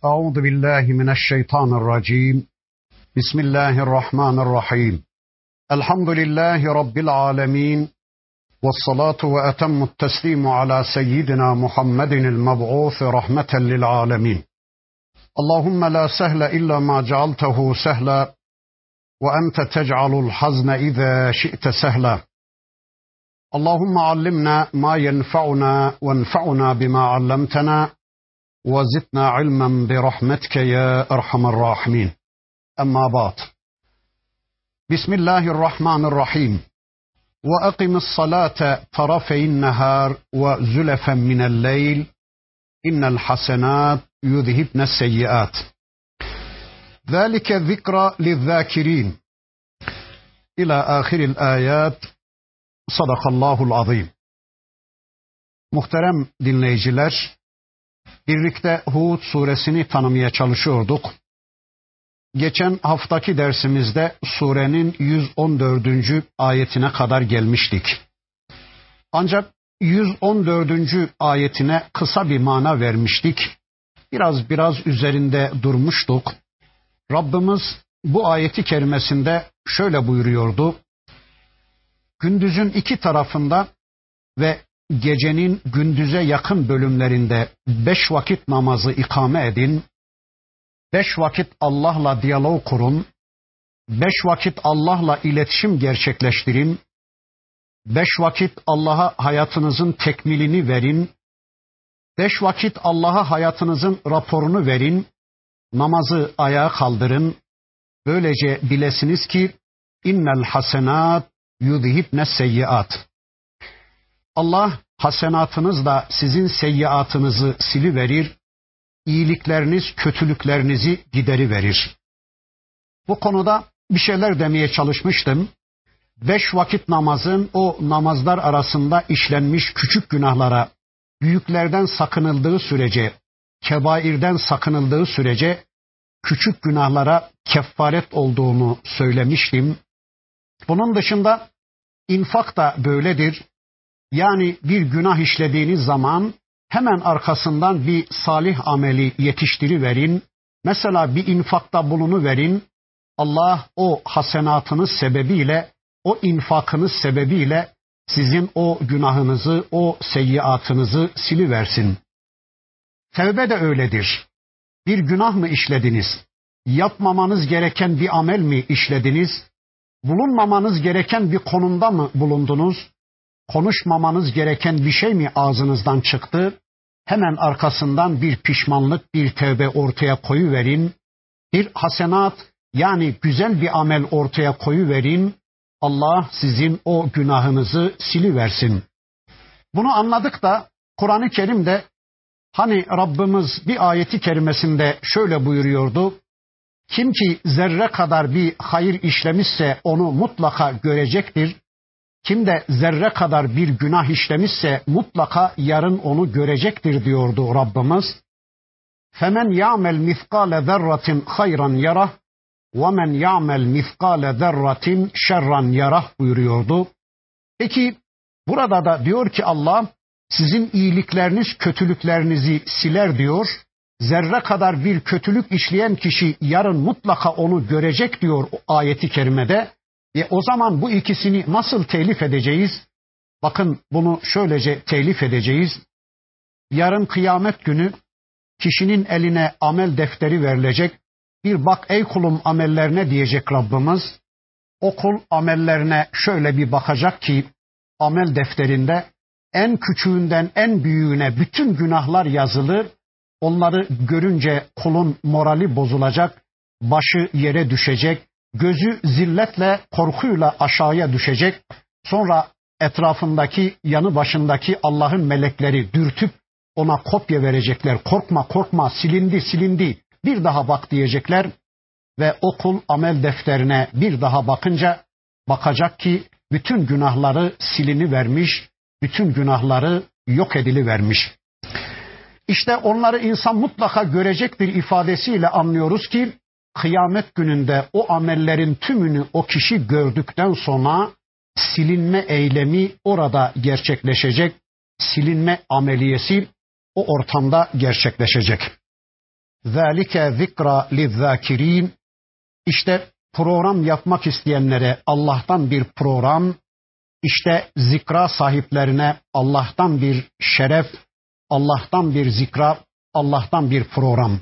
أعوذ بالله من الشيطان الرجيم. بسم الله الرحمن الرحيم. الحمد لله رب العالمين، والصلاة وأتم التسليم على سيدنا محمد المبعوث رحمة للعالمين. اللهم لا سهل إلا ما جعلته سهلا، وأنت تجعل الحزن إذا شئت سهلا. اللهم علمنا ما ينفعنا وانفعنا بما علمتنا، وزدنا علما برحمتك يا أرحم الراحمين. أما بعد. بسم الله الرحمن الرحيم. وأقم الصلاة طرفي النهار وزلفا من الليل إن الحسنات يذهبن السيئات ذلك ذكرى للذاكرين إلى آخر الآيات. Sadakallahul azim. Muhterem dinleyiciler, birlikte Hud suresini tanımaya çalışıyorduk. Geçen haftaki dersimizde surenin 114. ayetine kadar gelmiştik. Ancak 114. ayetine kısa bir mana vermiştik. Biraz üzerinde durmuştuk. Rabbimiz bu ayeti kerimesinde şöyle buyuruyordu. Gündüzün iki tarafında ve gecenin gündüze yakın bölümlerinde 5 vakit namazı ikame edin. 5 vakit Allah'la diyalog kurun. 5 vakit Allah'la iletişim gerçekleştirin. 5 vakit Allah'a hayatınızın tekmilini verin. 5 vakit Allah'a hayatınızın raporunu verin. Namazı ayağa kaldırın. Böylece bilesiniz ki innel hasenat yudhibne seyyiat. Allah hasenatınızla sizin seyyiatınızı siliverir, iyilikleriniz, kötülüklerinizi gideriverir. Bu konuda bir şeyler demeye çalışmıştım. 5 vakit namazın o namazlar arasında işlenmiş küçük günahlara, büyüklerden sakınıldığı sürece, kebairden sakınıldığı sürece küçük günahlara kefaret olduğunu söylemiştim. Bunun dışında infak da böyledir. Yani bir günah işlediğiniz zaman hemen arkasından bir salih ameli yetiştiriverin. Mesela bir infakta bulunuverin. Allah o hasenatınız sebebiyle, o infakınız sebebiyle sizin o günahınızı, o seyyiatınızı siliversin. Tevbe de öyledir. Bir günah mı işlediniz? Yapmamanız gereken bir amel mi işlediniz? Bulunmamanız gereken bir konumda mı bulundunuz? Konuşmamanız gereken bir şey mi ağzınızdan çıktı? Hemen arkasından bir pişmanlık, bir tevbe ortaya koyuverin. Bir hasenat, yani güzel bir amel ortaya koyuverin. Allah sizin o günahınızı siliversin. Bunu anladık da Kur'an-ı Kerim'de hani Rabbimiz bir ayeti kerimesinde şöyle buyuruyordu. Kim ki zerre kadar bir hayır işlemişse onu mutlaka görecektir. Kim de zerre kadar bir günah işlemişse mutlaka yarın onu görecektir diyordu Rabbimiz. Femen ya'mel mithqale zerratin hayran yarah ve men ya'mel mithqale zerratin şerran yarah buyuruyordu. Peki burada da diyor ki Allah sizin iyilikleriniz kötülüklerinizi siler diyor. Zerre kadar bir kötülük işleyen kişi yarın mutlaka onu görecek diyor o ayeti kerimede. O zaman bu ikisini nasıl telif edeceğiz? Bakın bunu şöylece telif edeceğiz. Yarın kıyamet günü kişinin eline amel defteri verilecek. Bir bak ey kulum amellerine diyecek Rabbimiz. O kul amellerine şöyle bir bakacak ki amel defterinde en küçüğünden en büyüğüne bütün günahlar yazılı. Onları görünce kulun morali bozulacak, başı yere düşecek, gözü zilletle, korkuyla aşağıya düşecek. Sonra etrafındaki, yanı başındaki Allah'ın melekleri dürtüp ona kopya verecekler. Korkma, korkma, silindi, bir daha bak diyecekler. Ve o kul amel defterine bir daha bakınca bakacak ki bütün günahları silinivermiş, bütün günahları yok edilivermiş. İşte onları insan mutlaka görecektir ifadesiyle anlıyoruz ki kıyamet gününde o amellerin tümünü o kişi gördükten sonra silinme eylemi orada gerçekleşecek. Silinme ameliyesi o ortamda gerçekleşecek. ذَٰلِكَ ذِكْرَى لِلذَّاكِرِينَ. İşte program yapmak isteyenlere Allah'tan bir program, işte zikra sahiplerine Allah'tan bir şeref, Allah'tan bir zikra, Allah'tan bir program.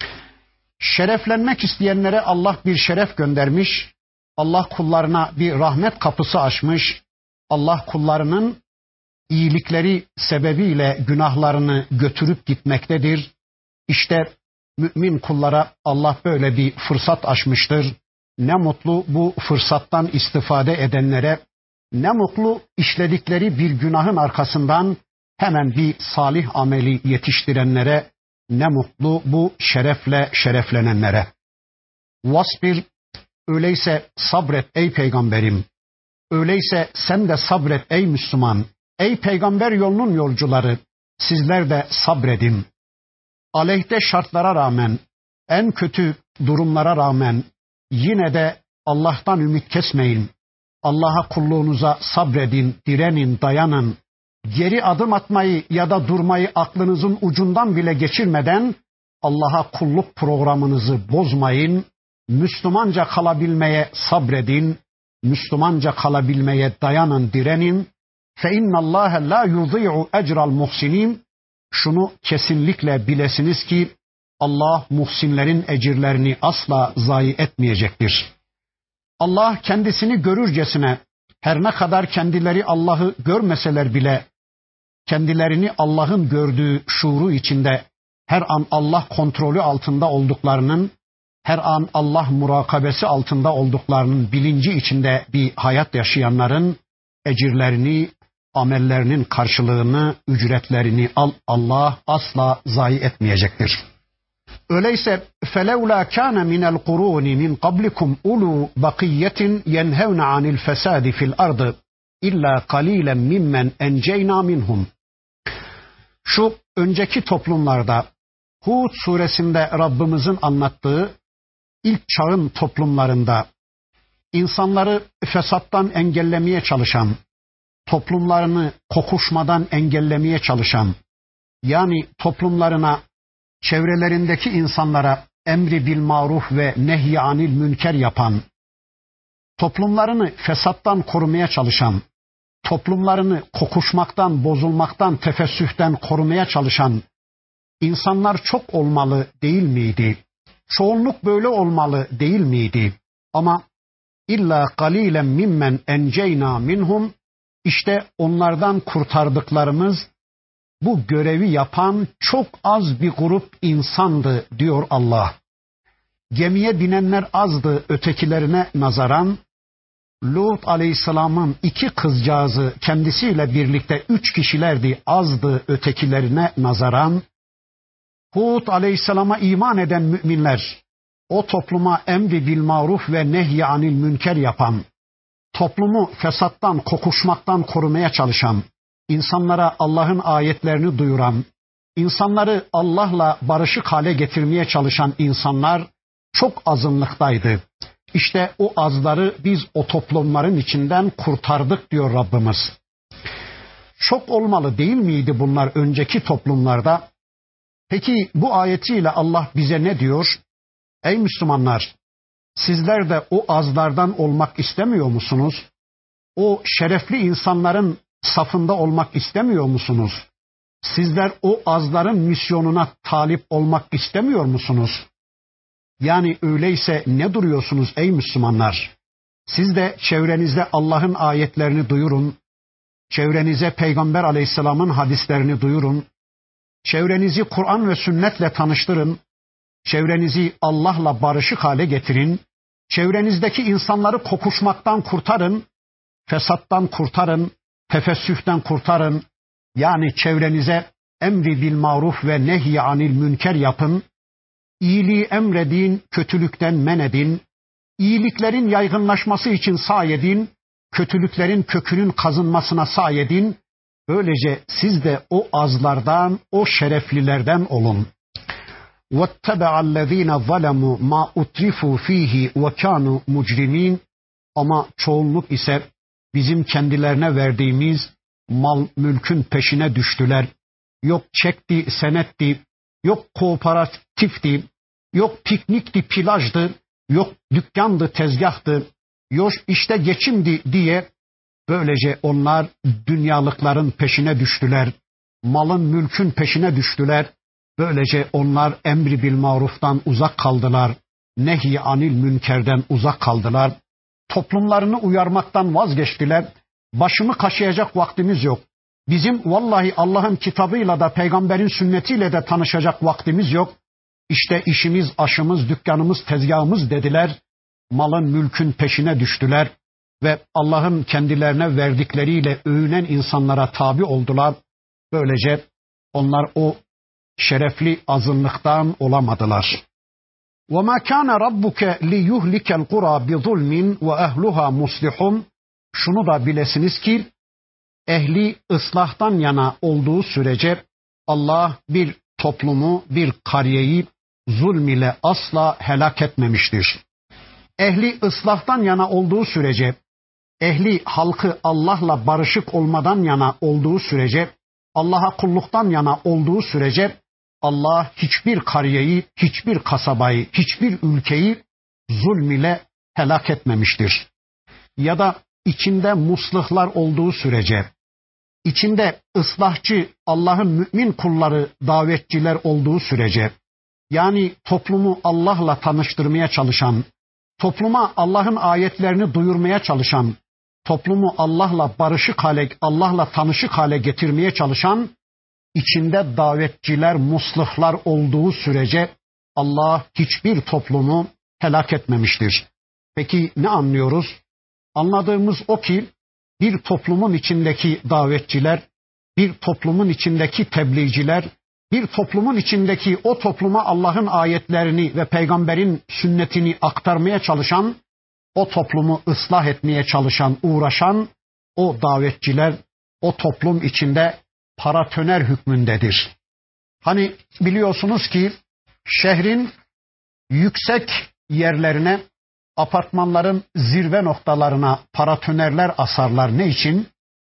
Şereflenmek isteyenlere Allah bir şeref göndermiş, Allah kullarına bir rahmet kapısı açmış, Allah kullarının iyilikleri sebebiyle günahlarını götürüp gitmektedir. İşte mümin kullara Allah böyle bir fırsat açmıştır. Ne mutlu bu fırsattan istifade edenlere, ne mutlu işledikleri bir günahın arkasından hemen bir salih ameli yetiştirenlere, ne mutlu bu şerefle şereflenenlere. Vasbir, öyleyse sabret ey peygamberim. Öyleyse sen de sabret ey Müslüman. Ey peygamber yolunun yolcuları, sizler de sabredin. Aleyhte şartlara rağmen, en kötü durumlara rağmen yine de Allah'tan ümit kesmeyin. Allah'a kulluğunuza sabredin, direnin, dayanın. Geri adım atmayı ya da durmayı aklınızın ucundan bile geçirmeden Allah'a kulluk programınızı bozmayın. Müslümanca kalabilmeye sabredin. Müslümanca kalabilmeye dayanın, direnin. فَاِنَّ اللّٰهَ لَا يُضِيعُ اَجْرَ الْمُحْسِنِينَ. Şunu kesinlikle bilesiniz ki Allah muhsinlerin ecirlerini asla zayi etmeyecektir. Allah kendisini görürcesine, her ne kadar kendileri Allah'ı görmeseler bile kendilerini Allah'ın gördüğü şuuru içinde her an Allah kontrolü altında olduklarının, her an Allah murakabesi altında olduklarının bilinci içinde bir hayat yaşayanların ecirlerini, amellerinin karşılığını, ücretlerini Allah asla zayi etmeyecektir. Öyleyse فَلَوْلَا كَانَ مِنَ الْقُرُونِ مِنْ قَبْلِكُمْ اُولُوا بَقِيَّةٍ يَنْهَوْنَ عَنِ الْفَسَادِ فِي الْأَرْضِ اِلَّا قَلِيلًا مِمَّنْ اَنْجَيْنَا مِنْهُمْ. Şu önceki toplumlarda Hud suresinde Rabbimizin anlattığı ilk çağın toplumlarında insanları fesattan engellemeye çalışan, toplumlarını kokuşmadan engellemeye çalışan, yani toplumlarına, çevrelerindeki insanlara emri bil maruf ve nehy anil münker yapan, toplumlarını fesattan korumaya çalışan, toplumlarını kokuşmaktan, bozulmaktan, tefessühten korumaya çalışan insanlar çok olmalı değil miydi? Çoğunluk böyle olmalı değil miydi? Ama illa qalilen mimmen enceyna minhum, işte onlardan kurtardıklarımız bu görevi yapan çok az bir grup insandı diyor Allah. Gemiye binenler azdı ötekilerine nazaran. Lut aleyhisselamın 2 kızcağızı kendisiyle birlikte 3 kişilerdi, azdı ötekilerine nazaran. Hud aleyhisselama iman eden müminler, o topluma emri bil maruf ve nehy anil münker yapan, toplumu fesattan, kokuşmaktan korumaya çalışan, insanlara Allah'ın ayetlerini duyuran, insanları Allah'la barışık hale getirmeye çalışan insanlar çok azınlıktaydı. İşte o azları biz o toplumların içinden kurtardık diyor Rabbimiz. Çok olmalı değil miydi bunlar önceki toplumlarda? Peki bu ayetiyle Allah bize ne diyor? Ey Müslümanlar, sizler de o azlardan olmak istemiyor musunuz? O şerefli insanların safında olmak istemiyor musunuz? Sizler o azların misyonuna talip olmak istemiyor musunuz? Yani öyleyse ne duruyorsunuz ey Müslümanlar? Siz de çevrenizde Allah'ın ayetlerini duyurun. Çevrenize Peygamber Aleyhisselam'ın hadislerini duyurun. Çevrenizi Kur'an ve sünnetle tanıştırın. Çevrenizi Allah'la barışık hale getirin. Çevrenizdeki insanları kokuşmaktan kurtarın. Fesattan kurtarın. Tefessühten kurtarın. Yani çevrenize emri bil maruf ve nehy anil münker yapın. İyiliği emredin, kötülükten men edin. İyiliklerin yaygınlaşması için sahi edin. Kötülüklerin kökünün kazınmasına sahi edin. Böylece siz de o azlardan, o şereflilerden olun. وَاتَّبَعَ الَّذ۪ينَ ظَلَمُوا مَا اُتْرِفُوا ف۪يهِ وَكَانُوا مُجْرِم۪ينَ. Ama çoğunluk ise bizim kendilerine verdiğimiz mal mülkün peşine düştüler. Yok çekti, senetti, yok kooperatifti, yok piknikti, plajdı, yok dükkandı, tezgahtı, yok işte geçimdi diye böylece onlar dünyalıkların peşine düştüler. Malın, mülkün peşine düştüler. Böylece onlar emri bil maruftan uzak kaldılar. Nehy anil münkerden uzak kaldılar. Toplumlarını uyarmaktan vazgeçtiler. Başımı kaşıyacak vaktimiz yok. Bizim vallahi Allah'ın kitabıyla da peygamberin sünnetiyle de tanışacak vaktimiz yok. İşte işimiz, aşımız, dükkanımız, tezgahımız dediler. Malın, mülkün peşine düştüler ve Allah'ın kendilerine verdikleriyle övünen insanlara tabi oldular. Böylece onlar o şerefli azınlıktan olamadılar. وَمَا كَانَ رَبُّكَ لِيُهْلِكَ الْقُرَى بِظُلْمٍ وَأَهْلُهَا مُصْلِحُونَ. Şunu da bilesiniz ki ehli ıslahtan yana olduğu sürece Allah bir toplumu, bir kariyeyi zulm ile asla helak etmemiştir. Ehli ıslahtan yana olduğu sürece, ehli halkı Allah'la barışık olmadan yana olduğu sürece, Allah'a kulluktan yana olduğu sürece Allah hiçbir kariyeyi, hiçbir kasabayı, hiçbir ülkeyi zulm ile helak etmemiştir. Ya da içinde muslihlar olduğu sürece, içinde ıslahçı Allah'ın mümin kulları, davetçiler olduğu sürece, yani toplumu Allah'la tanıştırmaya çalışan, topluma Allah'ın ayetlerini duyurmaya çalışan, toplumu Allah'la barışık hale, Allah'la tanışık hale getirmeye çalışan, içinde davetçiler, muslihlar olduğu sürece Allah hiçbir toplumu helak etmemiştir. Peki ne anlıyoruz? Anladığımız o ki bir toplumun içindeki davetçiler, bir toplumun içindeki tebliğciler, bir toplumun içindeki o topluma Allah'ın ayetlerini ve peygamberin sünnetini aktarmaya çalışan, o toplumu ıslah etmeye çalışan, uğraşan o davetçiler o toplum içinde paratoner hükmündedir. Hani biliyorsunuz ki şehrin yüksek yerlerine, apartmanların zirve noktalarına paratonerler asarlar. Ne için?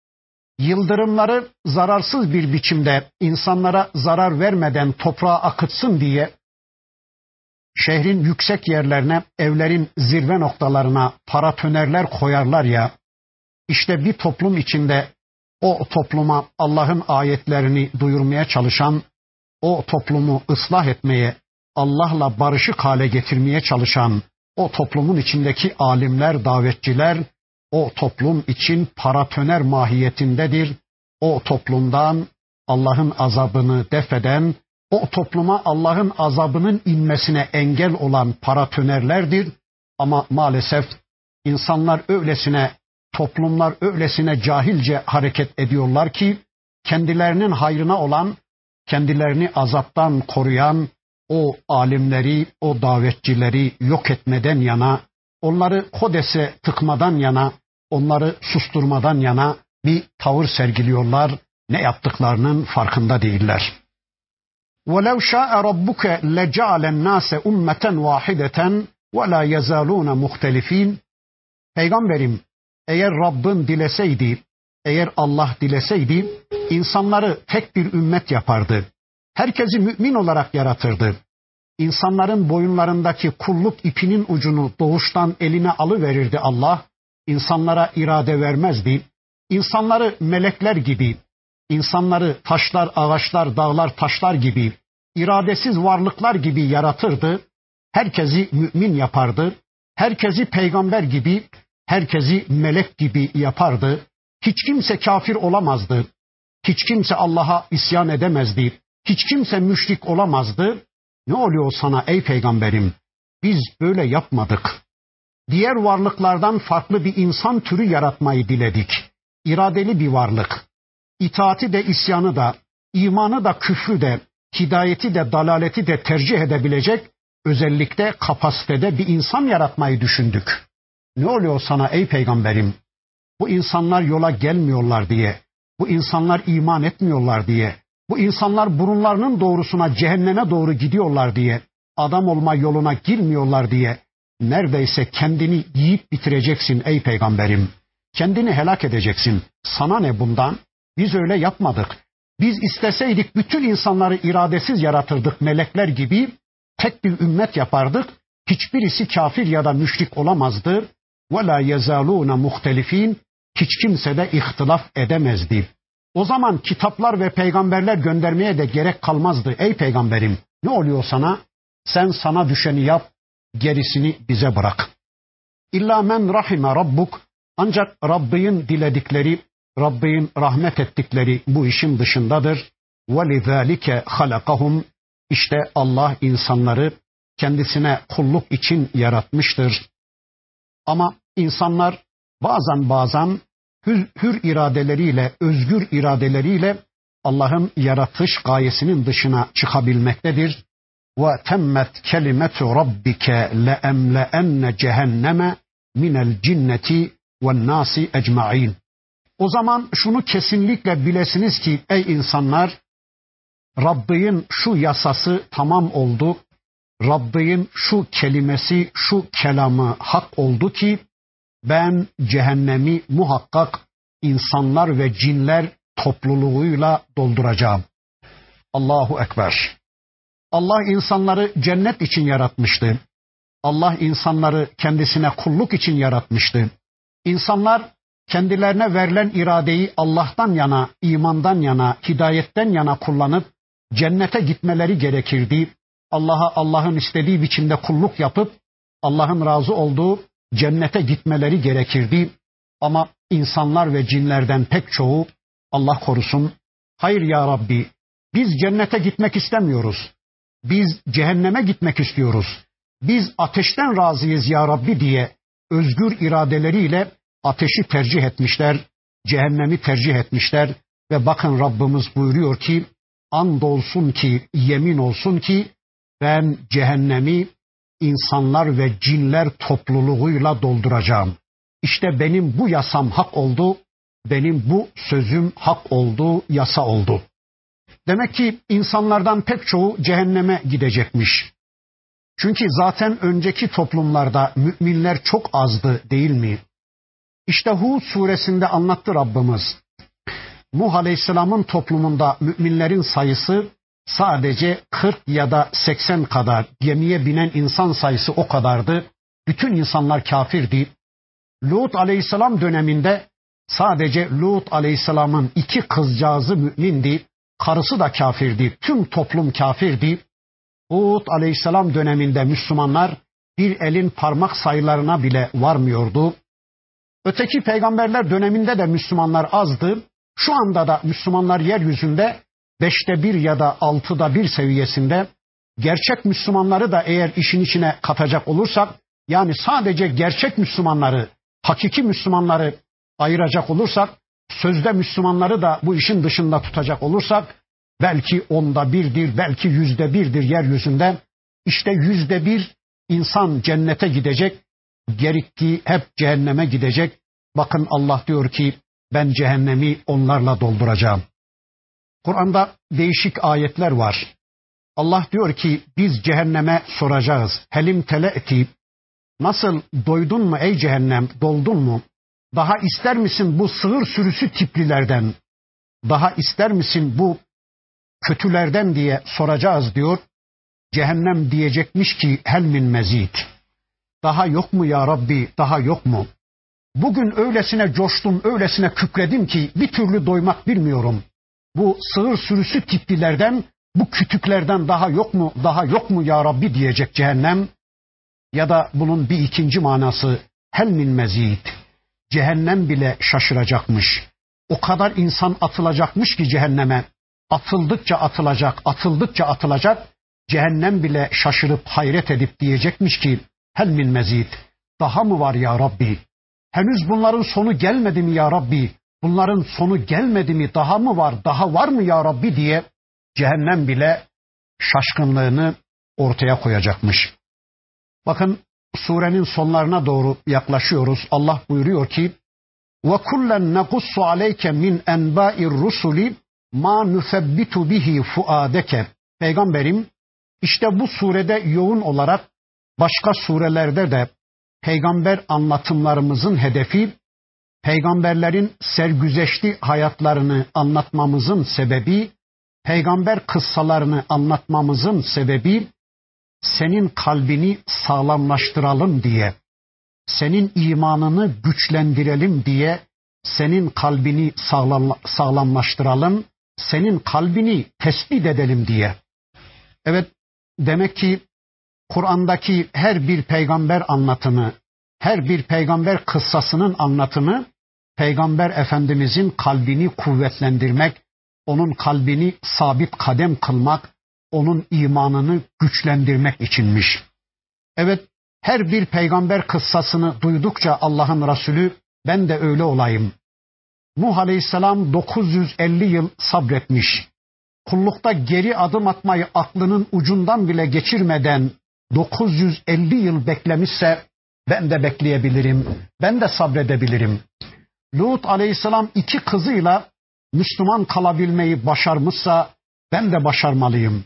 Yıldırımları zararsız bir biçimde insanlara zarar vermeden toprağa akıtsın diye şehrin yüksek yerlerine, evlerin zirve noktalarına paratonerler koyarlar ya, işte bir toplum içinde o topluma Allah'ın ayetlerini duyurmaya çalışan, o toplumu ıslah etmeye, Allah'la barışık hale getirmeye çalışan o toplumun içindeki alimler, davetçiler, o toplum için paratoner mahiyetindedir. O toplumdan Allah'ın azabını defeden, o topluma Allah'ın azabının inmesine engel olan paratonerlerdir. Ama maalesef insanlar öylesine, toplumlar öylesine cahilce hareket ediyorlar ki kendilerinin hayrına olan, kendilerini azaptan koruyan o alimleri, o davetçileri yok etmeden yana, onları kodese tıkmadan yana, onları susturmadan yana bir tavır sergiliyorlar. Ne yaptıklarının farkında değiller. وَلَوْ شَاءَ رَبُّكَ لَجَعَلَ النَّاسَ أُمَّةً وَاحِدَةً وَلَا يَزَالُونَ مُخْتَلِف۪ينَ. Peygamberim, eğer Rabbin dileseydi, eğer Allah dileseydi, insanları tek bir ümmet yapardı. Herkesi mümin olarak yaratırdı. İnsanların boyunlarındaki kulluk ipinin ucunu doğuştan eline alıverirdi Allah. İnsanlara irade vermezdi. İnsanları melekler gibi, insanları taşlar, ağaçlar, dağlar, taşlar gibi, iradesiz varlıklar gibi yaratırdı. Herkesi mümin yapardı. Herkesi peygamber gibi, herkesi melek gibi yapardı. Hiç kimse kafir olamazdı. Hiç kimse Allah'a isyan edemezdi. Hiç kimse müşrik olamazdı. Ne oluyor sana ey peygamberim? Biz böyle yapmadık. Diğer varlıklardan farklı bir insan türü yaratmayı diledik. İradeli bir varlık. İtaati de isyanı da, imanı da küfrü de, hidayeti de dalaleti de tercih edebilecek özellikle kapasitede bir insan yaratmayı düşündük. Ne oluyor sana ey peygamberim? Bu insanlar yola gelmiyorlar diye, bu insanlar iman etmiyorlar diye, bu insanlar burunlarının doğrusuna cehenneme doğru gidiyorlar diye, adam olma yoluna girmiyorlar diye neredeyse kendini yiyip bitireceksin ey peygamberim. Kendini helak edeceksin. Sana ne bundan? Biz öyle yapmadık. Biz isteseydik bütün insanları iradesiz yaratırdık melekler gibi. tek bir ümmet yapardık. Hiçbirisi kafir ya da müşrik olamazdı. وَلَا يَزَالُونَ مُخْتَلِف۪ينَ Hiç kimse de ihtilaf edemezdi. O zaman kitaplar ve peygamberler göndermeye de gerek kalmazdı. Ey peygamberim, ne oluyor sana? Sen sana düşeni yap, gerisini bize bırak. İlla men rahime rabbuk. Ancak Rabbin diledikleri, Rabbin rahmet ettikleri bu işin dışındadır. وَلِذَٰلِكَ خَلَقَهُمْ İşte Allah insanları kendisine kulluk için yaratmıştır. Ama insanlar bazen hür iradeleriyle, özgür iradeleriyle Allah'ın yaratış gayesinin dışına çıkabilmektedir. وَتَمَّتْ كَلِمَةُ رَبِّكَ لَاَمْلَأَنَّ cehenneme minel cinneti ve nasi ecmaîn. O zaman şunu kesinlikle bilesiniz ki ey insanlar, Rabbin şu yasası tamam oldu. Rabbin şu kelimesi, şu kelamı hak oldu ki ben cehennemi muhakkak insanlar ve cinler topluluğuyla dolduracağım. Allahu Ekber. Allah insanları cennet için yaratmıştı. Allah insanları kendisine kulluk için yaratmıştı. İnsanlar kendilerine verilen iradeyi Allah'tan yana, imandan yana, hidayetten yana kullanıp cennete gitmeleri gerekirdi. Allah'a Allah'ın istediği biçimde kulluk yapıp Allah'ın razı olduğu cennete gitmeleri gerekirdi. Ama insanlar ve cinlerden pek çoğu, Allah korusun, hayır ya Rabbi, biz cennete gitmek istemiyoruz. Biz cehenneme gitmek istiyoruz. Biz ateşten razıyız ya Rabbi diye özgür iradeleriyle ateşi tercih etmişler, cehennemi tercih etmişler ve bakın Rabbimiz buyuruyor ki, andolsun ki, yemin olsun ki ben cehennemi insanlar ve cinler topluluğuyla dolduracağım. İşte benim bu yasam hak oldu, benim bu sözüm hak oldu, yasa oldu. Demek ki insanlardan pek çoğu cehenneme gidecekmiş. Çünkü zaten önceki toplumlarda müminler çok azdı değil mi? İşte Hud suresinde anlattı Rabbimiz. Nuh Aleyhisselam'ın toplumunda müminlerin sayısı sadece 40 ya da 80 kadar, gemiye binen insan sayısı o kadardı. Bütün insanlar kafirdi. Lut Aleyhisselam döneminde sadece Lut Aleyhisselam'ın 2 kızcağızı mümindi, karısı da kafirdi, tüm toplum kafirdi. Hud Aleyhisselam döneminde Müslümanlar bir elin parmak sayılarına bile varmıyordu. Öteki peygamberler döneminde de Müslümanlar azdı. Şu anda da Müslümanlar yeryüzünde 5'te 1 ya da 6'da 1 seviyesinde. Gerçek Müslümanları da eğer işin içine katacak olursak, yani sadece gerçek Müslümanları, hakiki Müslümanları ayıracak olursak, sözde Müslümanları da bu işin dışında tutacak olursak, belki 10'da 1'dir, belki 100'de 1'dir yeryüzünde. İşte 100'de 1 insan cennete gidecek, geriktiği hep cehenneme gidecek. Bakın Allah diyor ki ben cehennemi onlarla dolduracağım. Kur'an'da değişik ayetler var. Allah diyor ki biz cehenneme soracağız. Helim tele'ti. Nasıl, doydun mu ey cehennem, doldun mu? Daha ister misin bu sığır sürüsü tiplilerden? Daha ister misin bu kötülerden diye soracağız diyor. Cehennem diyecekmiş ki hel min mezid. Daha yok mu ya Rabbi, daha yok mu? Bugün öylesine coştum, öylesine kükredim ki bir türlü doymak bilmiyorum. Bu sığır sürüsü tiplilerden, bu kütüklerden daha yok mu, daha yok mu ya Rabbi diyecek cehennem. Ya da bunun bir ikinci manası hel min mezid. Cehennem bile şaşıracakmış. O kadar insan atılacakmış ki cehenneme. Atıldıkça atılacak, atıldıkça atılacak. Cehennem bile şaşırıp hayret edip diyecekmiş ki hel min mezid. Daha mı var ya Rabbi? Henüz bunların sonu gelmedi mi ya Rabbi? Bunların sonu gelmedi mi? Daha mı var? Daha var mı ya Rabbi diye cehennem bile şaşkınlığını ortaya koyacakmış. Bakın surenin sonlarına doğru yaklaşıyoruz. Allah buyuruyor ki وَكُلًّا نَقُصُّ عَلَيْكَ مِنْ اَنْبَاءِ الرُّسُلِ مَا نُثَبِّتُ بِهِ فُؤَادَكَ. Peygamberim, işte bu surede yoğun olarak başka surelerde de peygamber anlatımlarımızın hedefi, peygamberlerin sergüzeşti hayatlarını anlatmamızın sebebi, peygamber kıssalarını anlatmamızın sebebi, senin kalbini sağlamlaştıralım diye, senin imanını güçlendirelim diye, senin kalbini sağlamlaştıralım, senin kalbini tespit edelim diye. Evet, demek ki Kur'an'daki her bir peygamber anlatımı, her bir peygamber kıssasının anlatımı, Peygamber Efendimizin kalbini kuvvetlendirmek, onun kalbini sabit kadem kılmak, onun imanını güçlendirmek içinmiş. Evet, her bir peygamber kıssasını duydukça Allah'ın Resulü, ben de öyle olayım. Nuh Aleyhisselam 950 yıl sabretmiş. Kullukta geri adım atmayı aklının ucundan bile geçirmeden 950 yıl beklemişse ben de bekleyebilirim, ben de sabredebilirim. Lut Aleyhisselam 2 kızıyla Müslüman kalabilmeyi başarmışsa ben de başarmalıyım.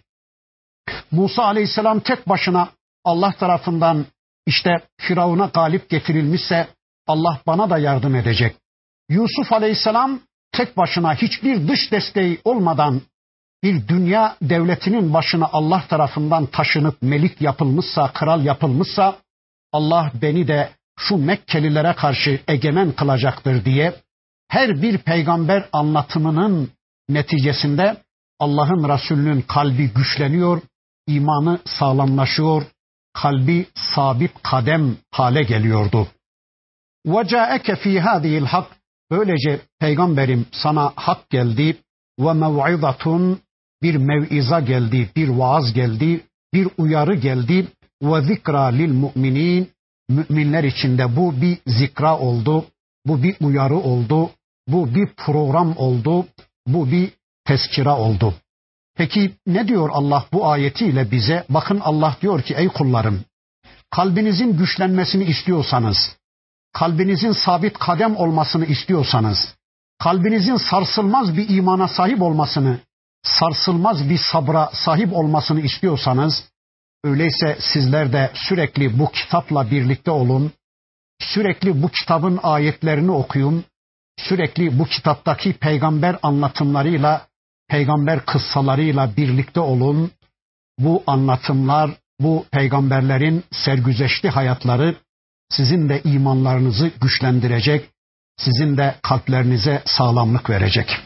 Musa Aleyhisselam tek başına Allah tarafından işte Firavun'a galip getirilmişse Allah bana da yardım edecek. Yusuf Aleyhisselam tek başına hiçbir dış desteği olmadan bir dünya devletinin başına Allah tarafından taşınıp melik yapılmışsa, kral yapılmışsa Allah beni de şu Mekkelilere karşı egemen kılacaktır diye her bir peygamber anlatımının neticesinde Allah'ın Resulü'nün kalbi güçleniyor, imanı sağlamlaşıyor, kalbi sabit kadem hale geliyordu. وَجَاءَكَ ف۪ي هَذِهِ الْحَقِّ Böylece peygamberim sana hak geldi ve mev'izatun bir mev'iza geldi, bir vaaz geldi, bir uyarı geldi ve zikra lil mu'minin müminler içinde bu bir zikra oldu, bu bir uyarı oldu, bu bir program oldu, bu bir tezkira oldu. Peki ne diyor Allah bu ayetiyle bize? Bakın Allah diyor ki ey kullarım, kalbinizin güçlenmesini istiyorsanız, kalbinizin sabit kadem olmasını istiyorsanız, kalbinizin sarsılmaz bir imana sahip olmasını, sarsılmaz bir sabra sahip olmasını istiyorsanız, öyleyse sizler de sürekli bu kitapla birlikte olun, sürekli bu kitabın ayetlerini okuyun, sürekli bu kitaptaki peygamber anlatımlarıyla, peygamber kıssalarıyla birlikte olun. Bu anlatımlar, bu peygamberlerin sergüzeşli hayatları sizin de imanlarınızı güçlendirecek, sizin de kalplerinize sağlamlık verecek.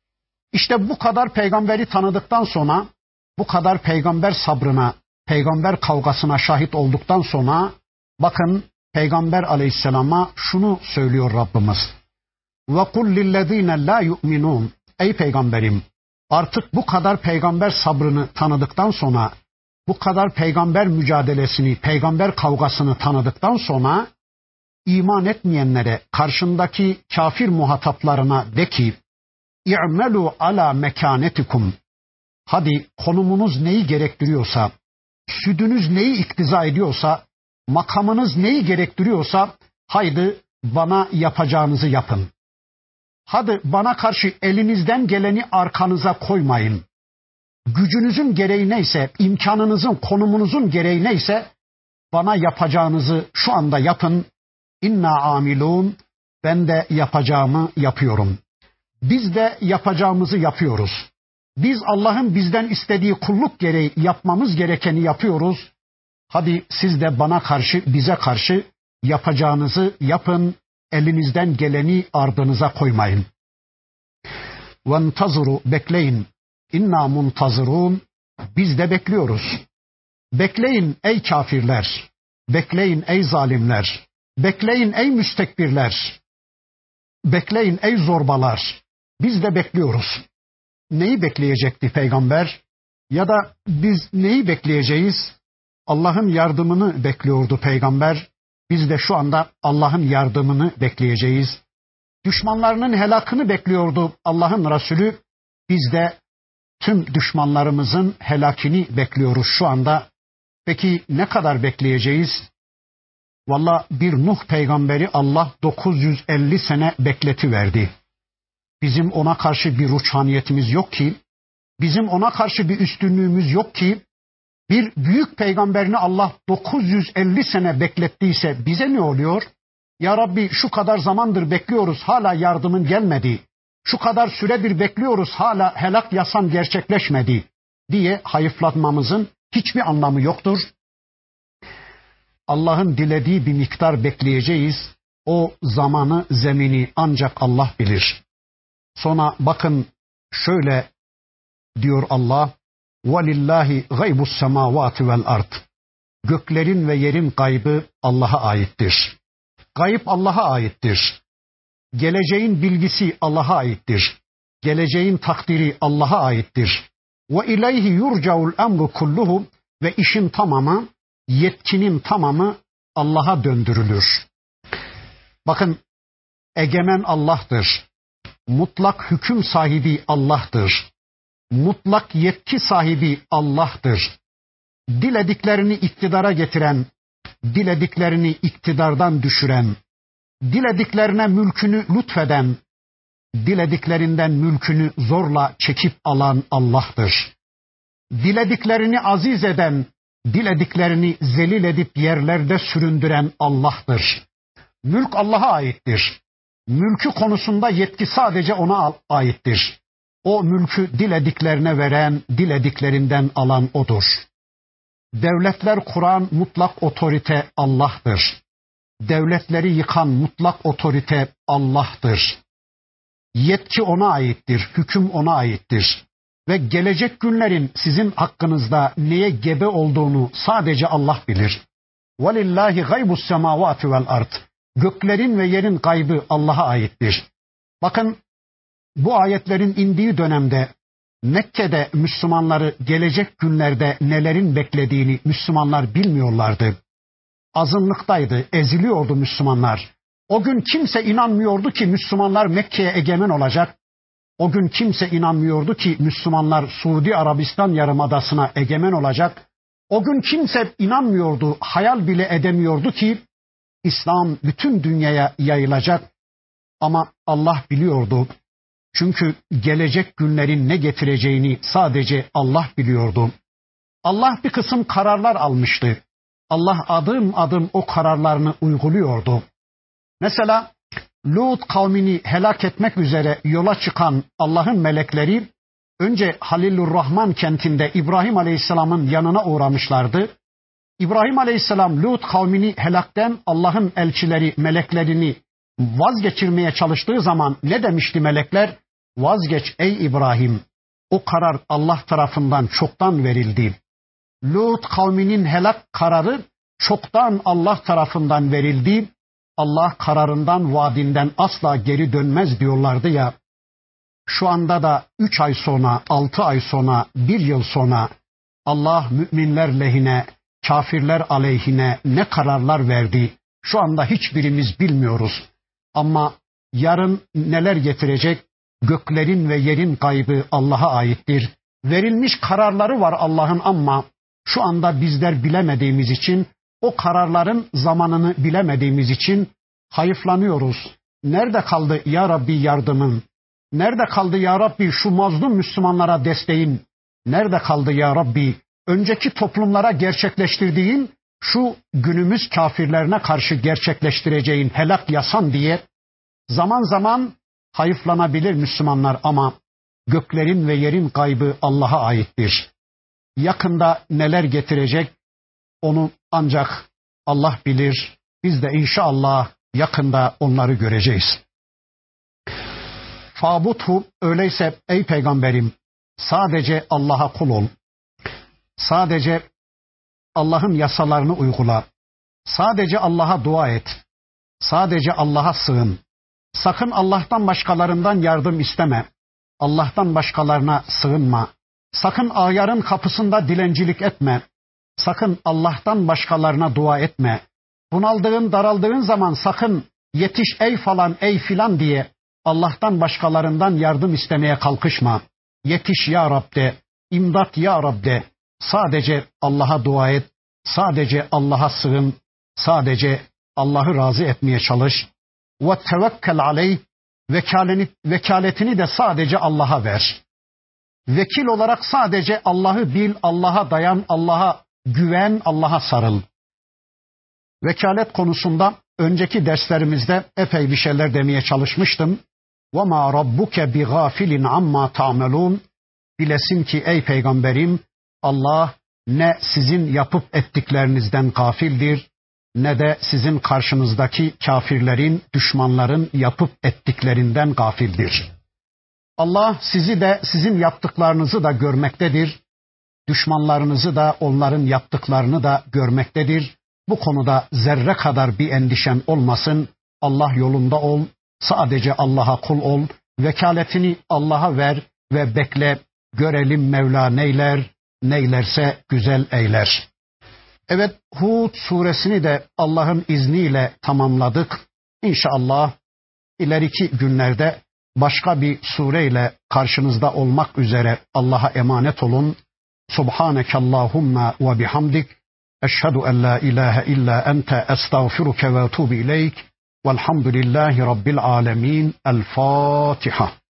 İşte bu kadar peygamberi tanıdıktan sonra, bu kadar peygamber sabrına, peygamber kavgasına şahit olduktan sonra, bakın Peygamber Aleyhisselam'a şunu söylüyor Rabbimiz. وَقُلْ لِلَّذ۪ينَ لَا يُؤْمِنُونَ Ey peygamberim, artık bu kadar peygamber sabrını tanıdıktan sonra, bu kadar peygamber mücadelesini, peygamber kavgasını tanıdıktan sonra, iman etmeyenlere, karşındaki kafir muhataplarına de ki, İ'melû alâ mekânetikum. Hadi konumunuz neyi gerektiriyorsa, südünüz neyi iktiza ediyorsa, makamınız neyi gerektiriyorsa, haydi bana yapacağınızı yapın. Hadi bana karşı elinizden geleni arkanıza koymayın. Gücünüzün gereği neyse, imkanınızın, konumunuzun gereği neyse, bana yapacağınızı şu anda yapın. İnna amilun, ben de yapacağımı yapıyorum. Biz de yapacağımızı yapıyoruz. Biz Allah'ın bizden istediği kulluk gereği yapmamız gerekeni yapıyoruz. Hadi siz de bana karşı, bize karşı yapacağınızı yapın. Elinizden geleni ardınıza koymayın. Ventazuru, bekleyin. İnna muntazirun, biz de bekliyoruz. Bekleyin ey kafirler. Bekleyin ey zalimler. Bekleyin ey müstekbirler. Bekleyin ey zorbalar. Biz de bekliyoruz. Neyi bekleyecekti peygamber? Ya da biz neyi bekleyeceğiz? Allah'ın yardımını bekliyordu peygamber. Biz de şu anda Allah'ın yardımını bekleyeceğiz. Düşmanlarının helakını bekliyordu Allah'ın Resulü. Biz de tüm düşmanlarımızın helakini bekliyoruz şu anda. Peki ne kadar bekleyeceğiz? Valla bir Nuh peygamberi Allah 950 sene bekletiverdi. Bizim ona karşı bir ruhaniyetimiz yok ki, bizim ona karşı bir üstünlüğümüz yok ki, bir büyük peygamberini Allah 950 sene beklettiyse bize ne oluyor? Ya Rabbi şu kadar zamandır bekliyoruz hala yardımın gelmedi. Şu kadar süredir bekliyoruz hala helak yasan gerçekleşmedi diye hayıflatmamızın hiçbir anlamı yoktur. Allah'ın dilediği bir miktar bekleyeceğiz. O zamanı, zemini ancak Allah bilir. Sonra bakın şöyle diyor Allah: وَلِلَّهِ غَيْبُ السَّمَاوَاتِ وَالْأَرْضِ. Göklerin ve yerin gaybı Allah'a aittir. Gayb Allah'a aittir. Geleceğin bilgisi Allah'a aittir. Geleceğin takdiri Allah'a aittir. وَاِلَيْهِ يُرْجَعُ الْاَمْرُ كُلُّهُ. Ve işin tamamı, yetkinin tamamı Allah'a döndürülür. Bakın, egemen Allah'tır. Mutlak hüküm sahibi Allah'tır. Mutlak yetki sahibi Allah'tır. Dilediklerini iktidara getiren, dilediklerini iktidardan düşüren, dilediklerine mülkünü lütfeden, dilediklerinden mülkünü zorla çekip alan Allah'tır. Dilediklerini aziz eden, dilediklerini zelil edip yerlerde süründüren Allah'tır. Mülk Allah'a aittir. Mülkü konusunda yetki sadece ona aittir. O mülkü dilediklerine veren, dilediklerinden alan O'dur. Devletler kuran mutlak otorite Allah'tır. Devletleri yıkan mutlak otorite Allah'tır. Yetki ona aittir, hüküm ona aittir. Ve gelecek günlerin sizin hakkınızda neye gebe olduğunu sadece Allah bilir. وَلِلَّهِ غَيْبُ السَّمَاوَاتِ وَالْأَرْضِ. Göklerin ve yerin gaybı Allah'a aittir. Bakın, bu ayetlerin indiği dönemde Mekke'de Müslümanları gelecek günlerde nelerin beklediğini Müslümanlar bilmiyorlardı. Azınlıktaydı, eziliyordu Müslümanlar. O gün kimse inanmıyordu ki Müslümanlar Mekke'ye egemen olacak. O gün kimse inanmıyordu ki Müslümanlar Suudi Arabistan Yarımadası'na egemen olacak. O gün kimse inanmıyordu, hayal bile edemiyordu ki İslam bütün dünyaya yayılacak. Ama Allah biliyordu. Çünkü gelecek günlerin ne getireceğini sadece Allah biliyordu. Allah bir kısım kararlar almıştı. Allah adım adım o kararlarını uyguluyordu. Mesela Lut kavmini helak etmek üzere yola çıkan Allah'ın melekleri önce Halilurrahman kentinde İbrahim Aleyhisselam'ın yanına uğramışlardı. İbrahim Aleyhisselam Lut kavmini helakten Allah'ın elçileri, meleklerini vazgeçirmeye çalıştığı zaman ne demişti melekler? Vazgeç ey İbrahim, o karar Allah tarafından çoktan verildi. Lut kavminin helak kararı çoktan Allah tarafından verildi. Allah kararından, vaadinden asla geri dönmez diyorlardı ya. Şu anda da 3 ay sonra, 6 ay sonra, 1 yıl sonra Allah müminler lehine, kafirler aleyhine ne kararlar verdi? Şu anda hiçbirimiz bilmiyoruz. Ama yarın neler getirecek? Göklerin ve yerin gaybı Allah'a aittir. Verilmiş kararları var Allah'ın ama şu anda bizler bilemediğimiz için, o kararların zamanını bilemediğimiz için hayıflanıyoruz. Nerede kaldı ya Rabbi yardımın? Nerede kaldı ya Rabbi şu mazlum Müslümanlara desteğin? Nerede kaldı ya Rabbi önceki toplumlara gerçekleştirdiğin şu günümüz kafirlerine karşı gerçekleştireceğin helak yasan diye zaman zaman hayıflanabilir Müslümanlar ama göklerin ve yerin gaybı Allah'a aittir. Yakında neler getirecek onu ancak Allah bilir. Biz de inşallah yakında onları göreceğiz. Fabuthu, öyleyse ey peygamberim sadece Allah'a kul ol. Sadece Allah'ın yasalarını uygula. Sadece Allah'a dua et. Sadece Allah'a sığın. Sakın Allah'tan başkalarından yardım isteme. Allah'tan başkalarına sığınma. Sakın ayarın kapısında dilencilik etme. Sakın Allah'tan başkalarına dua etme. Bunaldığın, daraldığın zaman sakın yetiş ey falan, ey filan diye Allah'tan başkalarından yardım istemeye kalkışma. Yetiş ya Rab de, imdat ya Rab de. Sadece Allah'a dua et. Sadece Allah'a sığın. Sadece Allah'ı razı etmeye çalış. Ve tevekkel aleyh. Vekaletini de sadece Allah'a ver. Vekil olarak sadece Allah'ı bil, Allah'a dayan, Allah'a güven, Allah'a sarıl. Vekalet konusunda önceki derslerimizde epey bir şeyler demeye çalışmıştım. وَمَا رَبُّكَ بِغَافِلٍ عَمَّا تَعْمَلُونَ. Bilesin ki ey peygamberim Allah ne sizin yapıp ettiklerinizden gafildir ne de sizin karşınızdaki kafirlerin, düşmanların yapıp ettiklerinden gafildir. Allah sizi de sizin yaptıklarınızı da görmektedir. Düşmanlarınızı da onların yaptıklarını da görmektedir. Bu konuda zerre kadar bir endişen olmasın. Allah yolunda ol, sadece Allah'a kul ol, vekaletini Allah'a ver ve bekle, görelim Mevla neyler, neylerse güzel eyler. Evet, Hud suresini de Allah'ın izniyle tamamladık. İnşallah ileriki günlerde başka bir sureyle karşınızda olmak üzere Allah'a emanet olun. Subhaneke Allahumma ve bihamdik. Eşhedü en la ilahe illa ente estağfiruke ve etûbü ileyk. Velhamdülillahi Rabbil alemin. El Fatiha.